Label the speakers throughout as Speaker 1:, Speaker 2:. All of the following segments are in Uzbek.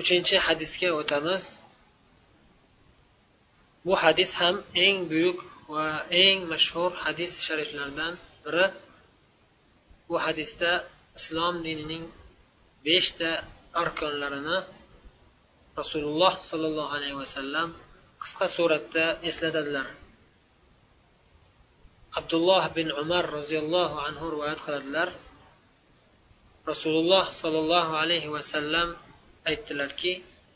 Speaker 1: uchinchi hadisga o'tamiz. Bu hadis ham eng buyuk va eng mashhur hadis shariflardan biri. Bu hadisda islom dinining 5 ta arkonlarini Rasululloh sollallohu alayhi vasallam qisqa suratda eslatadilar. Abdulloh bin Umar roziyallohu anhu rivoyat qiladilar. Rasululloh sollallohu alayhi vasallam aytdilarki: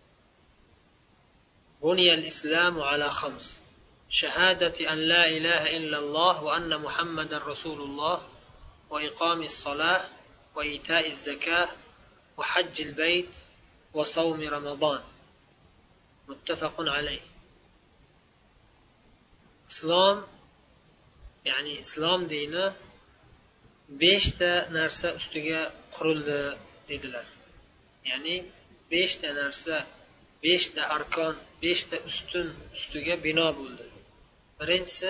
Speaker 1: "Buniyal islamu ala khams: shahadati an la ilaha illalloh va anna Muhammadar rasululloh va iqomis solah va ita'iz zakah va hajjil bayt va savmi ramazon." Muttafaqun alayh. Islom, ya'ni islom dini 5 ta narsa ustiga qurildi dedilar. Ya'ni 5 ta narsa, 5 ta arkon, 5 ta ustun ustiga bino bo'ldi. Birinchisi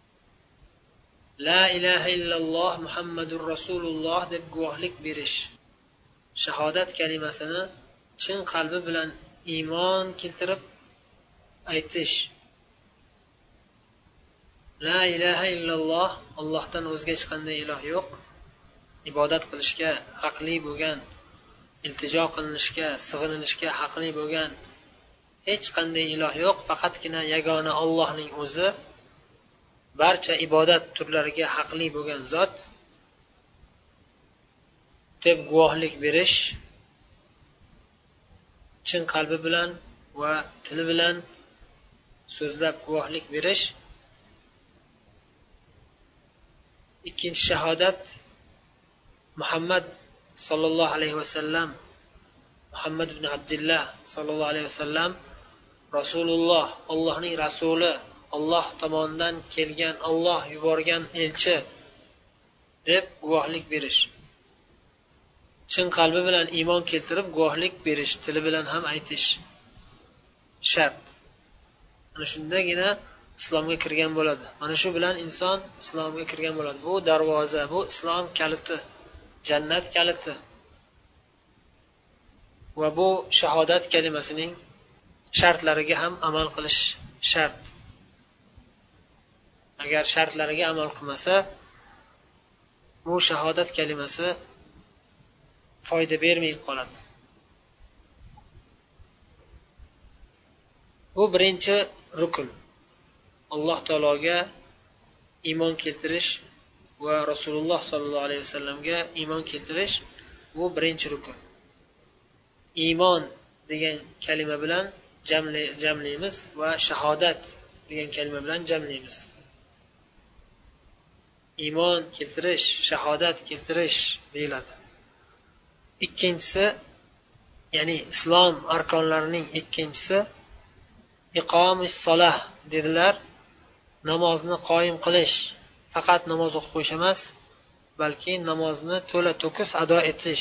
Speaker 1: la ilaha illalloh Muhammadur rasululloh deb guvohlik berish. Shahodat kalimasini chin qalbi bilan iymon keltirib aytish. La ilaha illalloh, Allohdan o'zga hech qanday iloh yo'q. Ibodat qilishga haqli bo'lgan, iltijo qilinishga, sig'inilishga haqli bo'lgan hech qanday iloh yo'q, faqatgina yagona Allohning o'zi barcha ibodat turlariga haqli bo'lgan zot deb guvohlik berish, chin qalbi bilan va tili bilan so'zlab guvohlik berish. Ikkinchi shahodat Muhammad sallallohu alayhi vasallam, Muhammad ibn Abdullah sallallohu alayhi vasallam Rasululloh, Allohning rasuli, Alloh tomonidan kelgan, Alloh yuborgan elchi deb guvohlik berish. Chin qalbi bilan iymon keltirib guvohlik berish, tili bilan ham aytish shart. Ana shundagina islomga kirgan bo'ladi. Mana shu bilan inson islomga kirgan bo'ladi. Bu darvoza, bu islom kaliti, jannat kaliti. Va bu shahodat kalimasining shartlariga ham amal qilish shart. Agar shartlariga amal qilmasa, bu shahodat kalimasi foyda bermay qoladi. Bu birinchi rukun. Alloh taologa iymon keltirish va Rasululloh sollallohu alayhi vasallamga iymon keltirish bu birinchi rukun. Iymon degan kalima bilan jamlaymiz va shahodat degan kalima bilan jamlaymiz. Iymon keltirish, shahodat keltirish deyiladi. Ikkinchisi, ya'ni islom arkonlarining ikkinchisi iqomis solah dedilar. Namozni qoyim qilish, faqat namoz o'qib qo'yish emas, balki namozni to'la to'kis ado etish.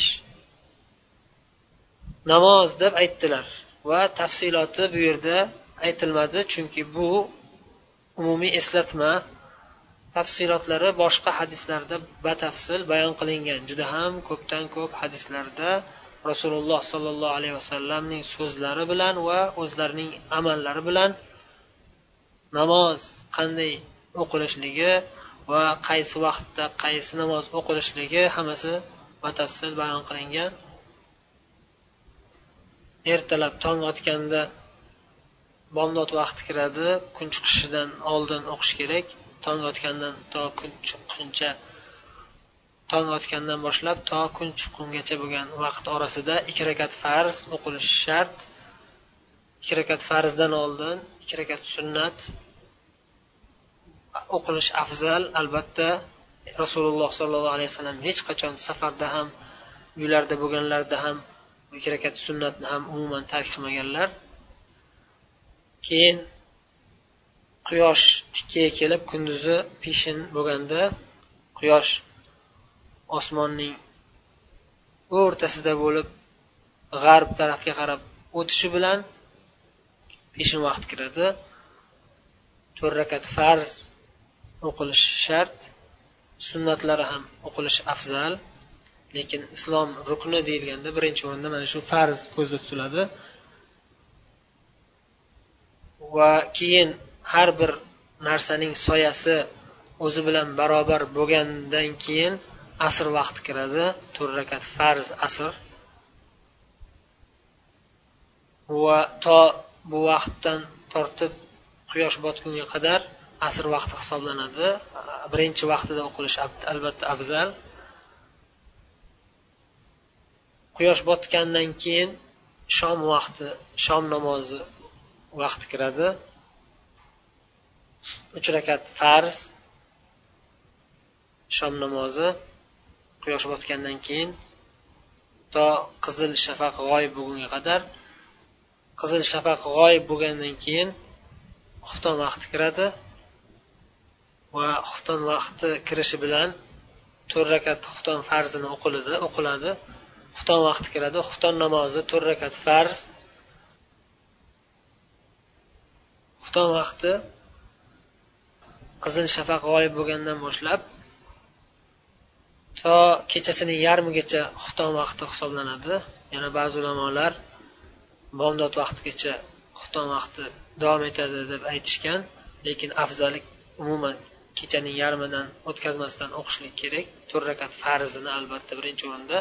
Speaker 1: Namoz deb aytdilar va tafsiloti bu yerda aytilmadi, chunki bu umumiy eslatma. Tafsilotlari boshqa hadislarda batafsil bayon qilingan. Juda ham ko'pdan ko'p hadislarda Rasululloh sollallohu alayhi vasallamning so'zlari bilan va o'zlarining amallari bilan namoz qanday o'qilishligi va qaysi vaqtda qaysi namoz o'qilishligi hammasi batafsil bayon qilingan. Ertalab tong otganda bomdod vaqti kiradi, kun chiqishidan oldin o'qish kerak. Tong otgandan to kun chiqquncha, tong otgandan boshlab to kun chiqqungacha bo'lgan vaqt orasida 2 rakat farz o'qilishi shart. 2 rakat farzdan oldin 2 rakat sunnat o'qilish afzal. Albatta Rasululloh sollallohu alayhi vasallam hech qachon safarda ham, uylarda bo'lganlarda ham 2 rakat sunnatni ham umuman tark qilmaganlar. Keyin quyosh tikkaga kelib kunduzi peshin bo'lganda quyosh osmonning o'rtasida bo'lib g'arb tarafga qarab o'tishi bilan peshin vaqt kiradi. 4 rakat farz o'qilish shart, sunnatlari ham o'qilish afzal. Lekin islom rukni deyilganda birinchi o'rinda mana shu farz ko'zda tutiladi. va keyin har bir narsaning soyasi o'zi bilan barobar bo'lgandan keyin asr vaqti kiradi. 4 rakat farz asr. Va to bu vaqtdan tortib quyosh botgunga qadar asr vaqti hisoblanadi. Birinchi vaqtida o'qilish albatta afzal. Quyosh botgandan keyin shom vaqti, shom namozi vaqti kiradi. 3 rakat farz shom namozi quyosh botgandan keyin to qizil shafaq g'oyib bo'lgunga qadar. Qizil shafaq g'oyib bo'lgandan keyin xufton vaqti kiradi va xufton vaqti kirishi bilan 4 rakat xufton farzini o'qiladi. Xufton vaqti kiradi. Xufton namozi 4 rakat farz. Xufton vaqti qizil shafaq g'oyib bo'lgandan boshlab to kechasining yarmigacha xufton vaqti hisoblanadi. Yana ba'zi ulamolar bomdod vaqtigacha xufton vaqti davom etadi deb aytishgan, lekin afzali umuman kechaning yarmidan o'tkazmasdan o'qishlik kerak. 4 rakat farzini albatta birinchi o'rinda.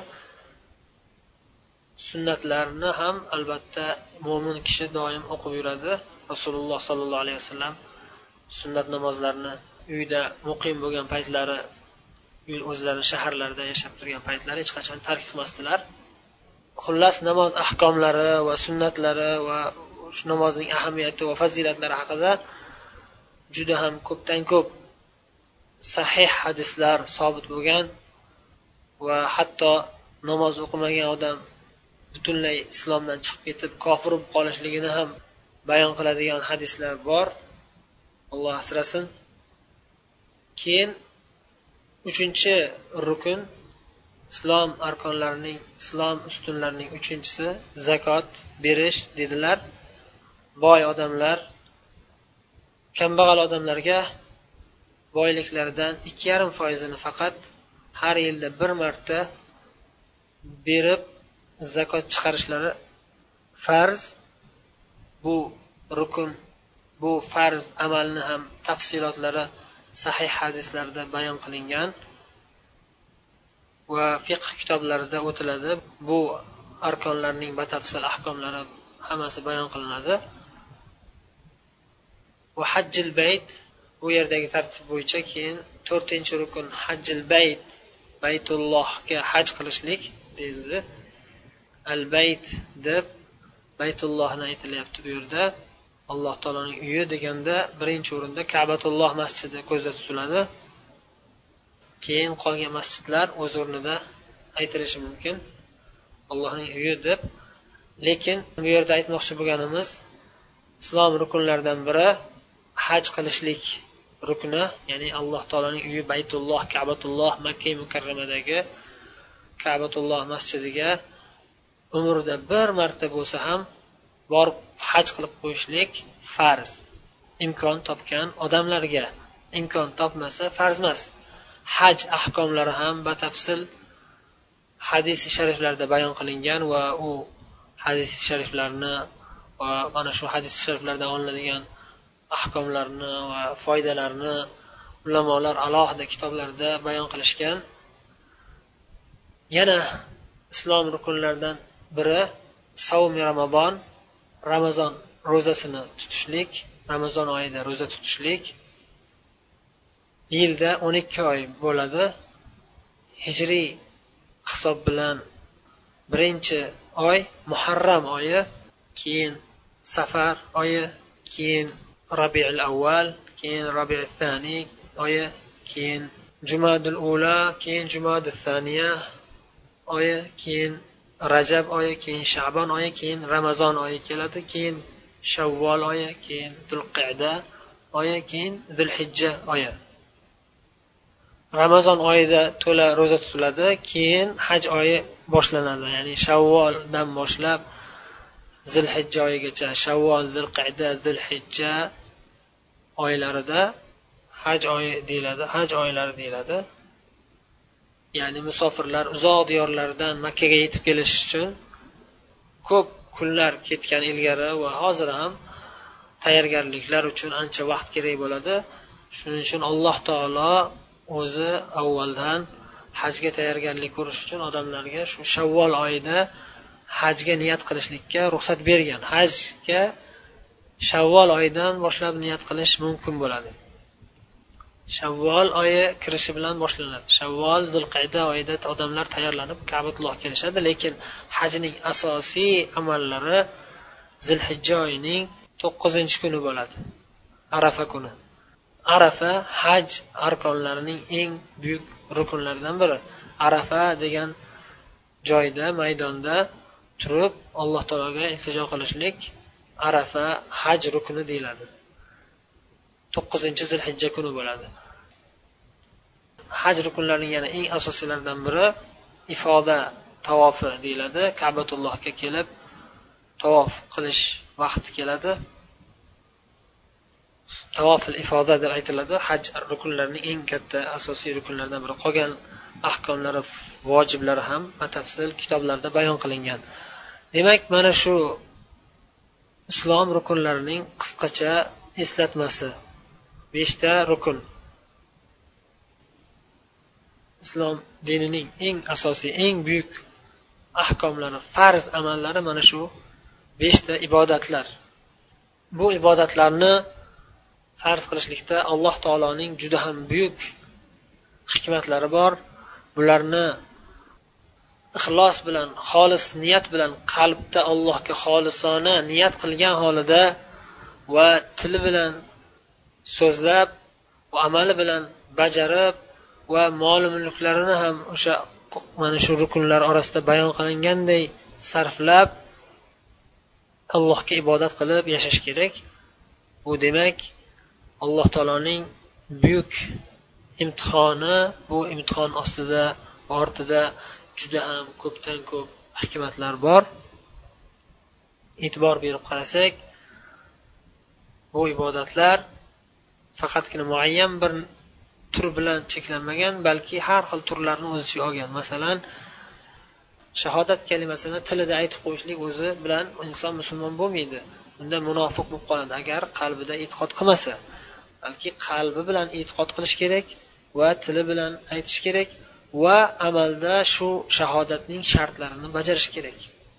Speaker 1: Sunnatlarni ham albatta mo'min kishi doim o'qib yuradi. Rasululloh sollallohu alayhi vasallam sunnat namozlarini uyda muqim bo'lgan paytlari, o'zlari shaharlarda yashab turgan paytlari hech qachon tark qilmasdilar. Xullas, namoz ahkomlari va sunnatlari va shu namozning ahamiyati va fazilatlari haqida juda ham ko'pdan ko'p sahih hadislar sobit bo'lgan va hatto namoz o'qimagan odam butunlay islomdan chiqib ketib kofir bo'lib qolishligini ham bayon qiladigan hadislar bor. Alloh asrasin. Keyin 3-chi rukun, islom arkonlarining, islom ustunlarining 3-chisi zakot berish dedilar. Boy odamlar kambag'al odamlarga boyliklaridan 2,5% faqat har yilda bir marta berib zakot chiqarishlari farz. Bu rukun, bu farz amalni ham tafsilotlari sahih hadislarda bayon qilingan va fiqh kitoblarida o'tiladi. Bu arkonlarning batafsil ahkomlari hammasi bayon qilinadi. Va hajjil bayt, bu yerdagi tartib bo'yicha keyin 4-rukun hajjil bayt, Baytullohga haj qilishlik deyiladi. Al-bayt deb Baytullohni aytilyapti bu yerda. Alloh taoloning uyi deganda birinchi o'rinda Ka'batulloh masjidi ko'zda tutiladi. Keyin qolgan masjidlar o'z o'rnida aytilishi mumkin. Allohning uyi deb. Lekin bu yerda aytmoqchi bo'lganimiz, islom rukunlaridan biri haj qilishlik rukni, ya'ni Alloh taoloning uyi Baytulloh, Ka'batulloh, Makka mukarramadagi Ka'batulloh masjidiga umrida bir marta bo'lsa ham borib haj qilib qo'yishlik farz. Imkon topgan odamlarga, imkon topmasa farz emas. Haj ahkomlari ham batafsil hadis shariflarda bayon qilingan va u hadis shariflarni va mana shu hadis shariflardan olinadigan ahkomlarni va foydalarni ulamolar alohida kitoblarda bayon qilishgan. Yana islom rukunlaridan biri savmi Ramazon, Ramazon ro'zasini tutishlik, Ramazon oyida ro'za tutishlik. Yilda 12 oy bo'ladi. Hijriy hisob bilan birinchi oy Muharram oyi, keyin Safar oyi, keyin Rabiul Avval, keyin Rabiul Thani oyi, keyin Jumadul Ula, keyin Jumadul Thaniya oyi, keyin Rajab oyi, keyin Sha'ban oyi, keyin Ramazon oyi keladi, keyin Shavvol oyi, keyin Zulqa'da oyi, keyin Zulhijja oyi. Ramazon oyida to'la ro'za tutiladi, keyin haj oyi boshlanadi. Ya'ni Shavvoldan boshlab Zulhijja oyigacha, Shavvol, Zulqa'da, Zulhijja oylarida haj oyi deyiladi, haj oylari deyiladi. Ya'ni musofirlar uzoq diyorlardan Makkaga yetib kelish uchun ko'p kunlar ketgan ilgari va hozir ham tayyorgarliklar uchun ancha vaqt kerak bo'ladi. Shuning uchun Alloh taolo o'zi avvaldan hajga tayyorgarlik ko'rish uchun odamlarga shu Shavvol oyida hajga niyat qilishlikka ruxsat bergan. Hajga Shavvol oyidan boshlab niyat qilish mumkin bo'ladi. Shavvol oyi kirishi bilan boshlanadi. Shavvol, Zulqayda oyida odamlar tayyorlanib Ka'batullohga kelishadi, lekin hajning asosiy amallari Zulhijja oyining 9-kuni bo'ladi. Arafa kuni. Arafa haj arkonlarining eng buyuk rukunlaridan biri. Arafa degan joyda, maydonda turib Alloh taologa iltijo qilishlik Arafa haj rukuni deyiladi. 9-Zulhijja kuni bo'ladi. Haj rukunlarining yana eng asosiylaridan biri ifoda tavofi deyiladi. Ka'batullohga kelib tavof qilish vaqti keladi. Tavofil ifoda deb aytiladi. Haj rukunlarining eng katta asosiy rukunlaridan biri. Qolgan ahkomlari, vojiblari ham batafsil kitoblarda bayon qilingan. Demak, mana shu islom rukunlarining qisqacha eslatmasi. 5 ta rukun. Islom dinining eng asosiy, eng buyuk ahkomlari, farz amallari mana shu 5 ta ibodatlar. Bu ibodatlarni farz qilishlikda Alloh taoloning juda ham buyuk hikmatlari bor. Bularni ixlos bilan, xolis niyat bilan qalbda Allohga xolisona niyat qilgan holida va tili bilan so'zlab va amali bilan bajarib va mol-mulklarini ham o'sha mana shu rukunlar orasida bayon qilinganday sarflab Allohga ibodat qilib yashash kerak. Bu demak Alloh taoloning buyuk imtihoni, bu imtihon ostida va ortida juda ham ko'pdan ko'p hikmatlar bor. E'tibor berib qarasak, bu ibodatlar faqatgina muayyan bir tur bilan cheklanmagan, balki har xil turlarni o'z ichiga olgan. Masalan, shahodat kalimasini tilida aytib qo'yishlik o'zi bilan inson musulmon bo'lmaydi. Unda munofiq bo'lib qoladi agar qalbida e'tiqod qilmasa. Balki qalbi bilan e'tiqod qilish kerak va tili bilan aytish kerak va amalda shu shahodatning shartlarini bajarish kerak.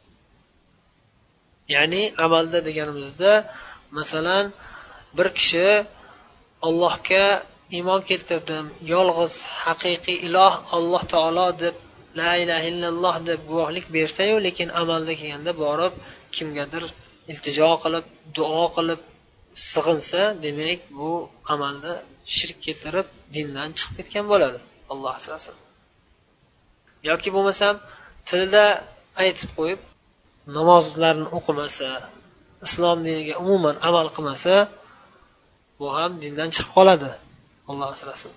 Speaker 1: Ya'ni amalda deganimizda, masalan, bir kishi Allohga iymon keltirdim, yolg'iz haqiqiy iloh Alloh taolo deb, la ilaha illalloh deb guvohlik bersa-yu, lekin amalda kelganda borib kimgadir iltijo qilib, duo qilib sig'insa, demak bu amalda shirk keltirib dindan chiqib ketgan bo'ladi. Alloh asrasin. Yoki bo'lmasam tilida aytib qo'yib namozlarni o'qimasa, islom diniga umuman amal qilmasa, bu ham dindan chiqib qoladi. Alloh asrasin.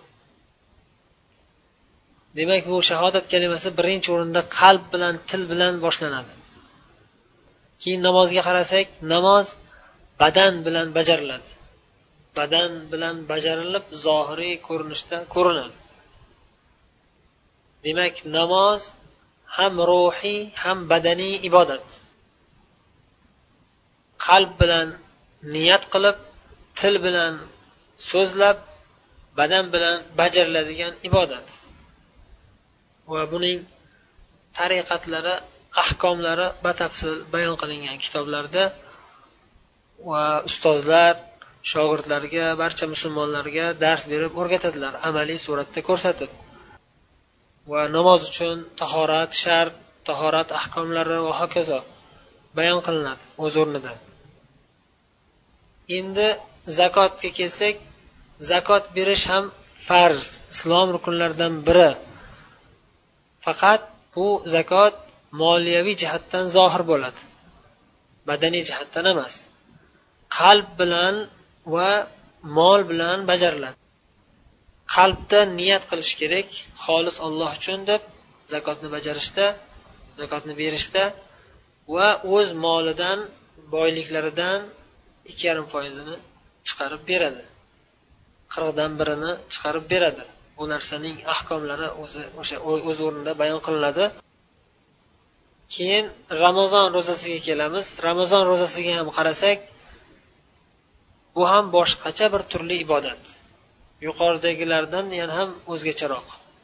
Speaker 1: Demak, bu shahodat kalimasi birinchi o'rinda qalb bilan, til bilan boshlanadi. Keyin namozga qarasak, namoz badan bilan bajariladi. Badan bilan bajarilib, zohiriy ko'rinishda ko'rinadi. Demak, namoz ham ruhiy, ham badaniy ibodat. Qalb bilan niyat qilib, til bilan so'zlab, badan bilan bajariladigan ibodat. Va buning tariqatlari, ahkomlari batafsil bayon qilingan kitoblarda va ustozlar shogirdlarga, barcha musulmonlarga dars berib o'rgatadilar, amaliy suratda ko'rsatib. Va namoz uchun tahorat shart, tahorat ahkomlari va hokazo bayon qilinadi o'z o'rnida. Endi zakotga kelsak, zakot berish ham farz, islom rukunlaridan biri. Faqat bu zakot moliyaviy jihatdan zohir bo'ladi. Badaniy jihatdan emas. Qalb bilan va mol bilan bajariladi. Qalbda niyat qilish kerak, xolis Alloh uchun deb zakotni bajarishda, zakotni berishda va o'z molidan, boyliklaridan 2,5% chiqarib beradi. 40dan birini chiqarib beradi. Bu narsaning ahkomlari o'z o'rnida bayon qilinadi. Keyin Ramazon ro'zasiga kelamiz. Ramazon ro'zasiga ham qarasak, bu ham boshqacha bir turli ibodat. Yuqoridagilardan yana ham o'zgacharoq.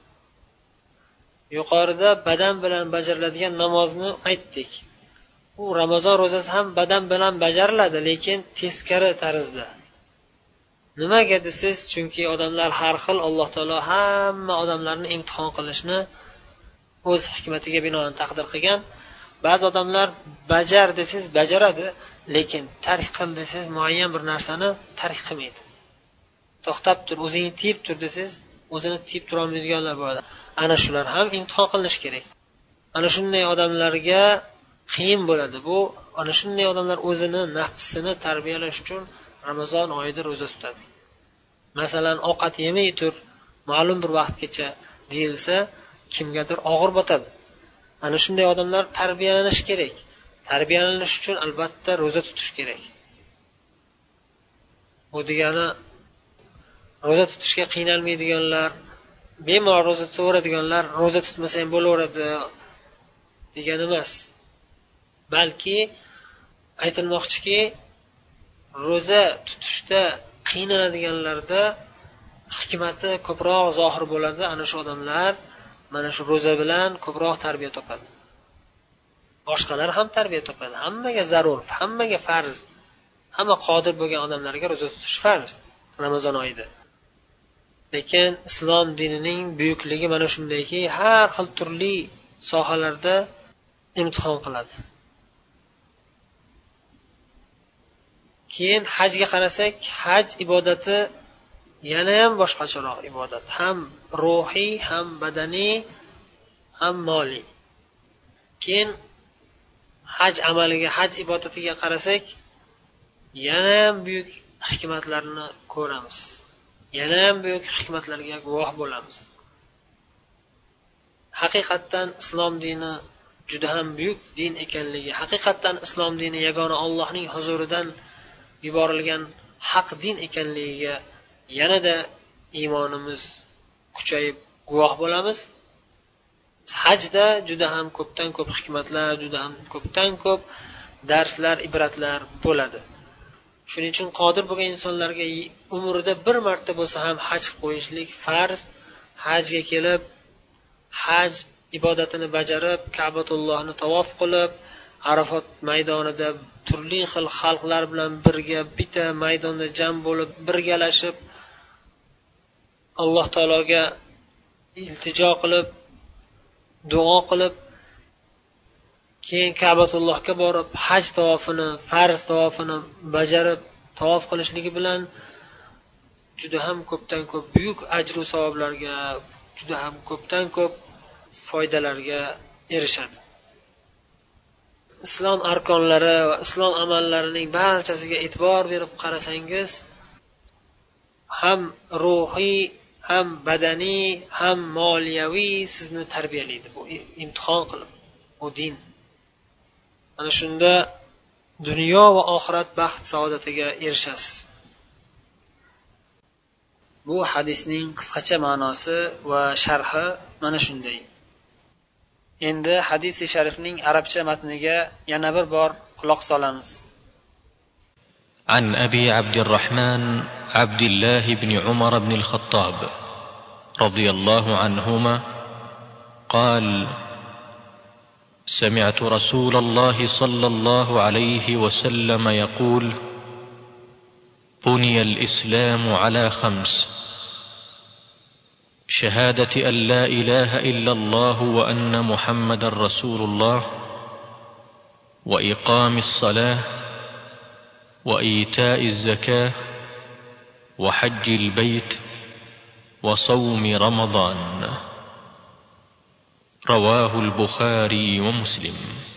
Speaker 1: Yuqorida badan bilan bajariladigan namozni aytdik. U Ramazon ro'zasi ham badan bilan bajariladi, lekin teskari tarzda. Nimaga desiz? Chunki odamlar har xil, Alloh taolo hamma odamlarni imtihon qilishni o'z hikmatiga binoan taqdir qilgan. Ba'zi odamlar bajar desiz bajaradi, lekin tark qil desiz muayyan bir narsani tark qilmaydi. To'xtab tur, o'zingni tiyib tur desiz, o'zini tiyib tura olmaydiganlar bo'ladi. Ana shular ham imtihon qilinish kerak. Ana shunday odamlarga qiyin bo'ladi. Bu ana shunday odamlar o'zini nafsini tarbiyalash uchun Ramazon oyida ro'za tutadi. Masalan, ovqat yemay tur, ma'lum bir vaqtgacha deyilsa, kimgadir og'ir botadi. Ana shunday odamlar tarbiyalanish kerak. Tarbiyalanish uchun albatta ro'za tutish kerak. Bu degani ro'za tutishga qiynalmaydiganlar, bemalol ro'za tutaveradiganlar ro'za tutmasa ham bo'laveradi degani emas. Balki aytilmoqchiki, ro'za tutishda qiynaladiganlarda hikmati ko'proq zohir bo'ladi. Ana shu odamlar mana shu ro'za bilan ko'proq tarbiya topadi. Boshqalar ham tarbiya topadi. Hammaga zarur, hammaga farz. Hamma qodir bo'lgan odamlarga ro'za tutish farz Ramazon oyida. Lekin islom dinining buyukligi mana shundayki, har xil turli sohalarda imtihon qiladi. Keyin hajga qarasak, haj ibodati yana ham boshqacharoq ibodat. Ham ruhiy, ham badaniy, ham moliy. Keyin haj amaliga, haj ibodatiga qarasak, yana ham buyuk hikmatlarni ko'ramiz. Yana ham buyuk hikmatlarga guvoh bo'lamiz. Haqiqatdan islom dini juda ham buyuk din ekanligi, haqiqatdan islom dini yagona Allohning huzuridan yuborilgan haq din ekanligiga yanada iymonimiz kuchayib guvoh bo'lamiz. Hajda juda ham ko'pdan ko'p hikmatlar, juda ham ko'pdan ko'p darslar, ibratlar bo'ladi. Shuning uchun qodir bo'lgan insonlarga umrida bir marta bo'lsa ham haj qilib qo'yishlik farz. Hajga kelib, haj ibodatini bajarib, Ka'batullohni tavof qilib, Arafot maydonida turli xil xalqlar bilan birga bitta maydonda jam bo'lib, birgalashib Alloh taologa iltijo qilib, duo qilib, keyin Ka'batullohga borib haj tavofini, farz tavofini bajarib, tavof qilishligi bilan juda ham ko'pdan ko'p buyuk ajr va savoblarga, juda ham ko'pdan ko'p foydalarga erishadi. Islom arkonlari va islom amallarining barchasiga e'tibor berib qarasangiz, ham ruhiy, ham badaniy, ham moliyaviy sizni tarbiyalaydi. Bu imtihon qilib, bu din. Ana shunda dunyo va oxirat baxt saodatiga erishasiz. Bu hadisning qisqacha ma'nosi va sharhi mana shunday. Endi hadis-i sharifning arabcha matniga yana bir bor quloq solamiz.
Speaker 2: عن أبي عبد الرحمن عبد الله بن عمر بن الخطاب رضي الله عنهما قال: سمعت رسول الله صلى الله عليه وسلم يقول: بني الإسلام على 5: شهادة أن لا إله إلا الله وأن محمد رسول الله، وإقام الصلاة، وإيتاء الزكاة، وحج البيت، وصوم رمضان. رواه البخاري ومسلم.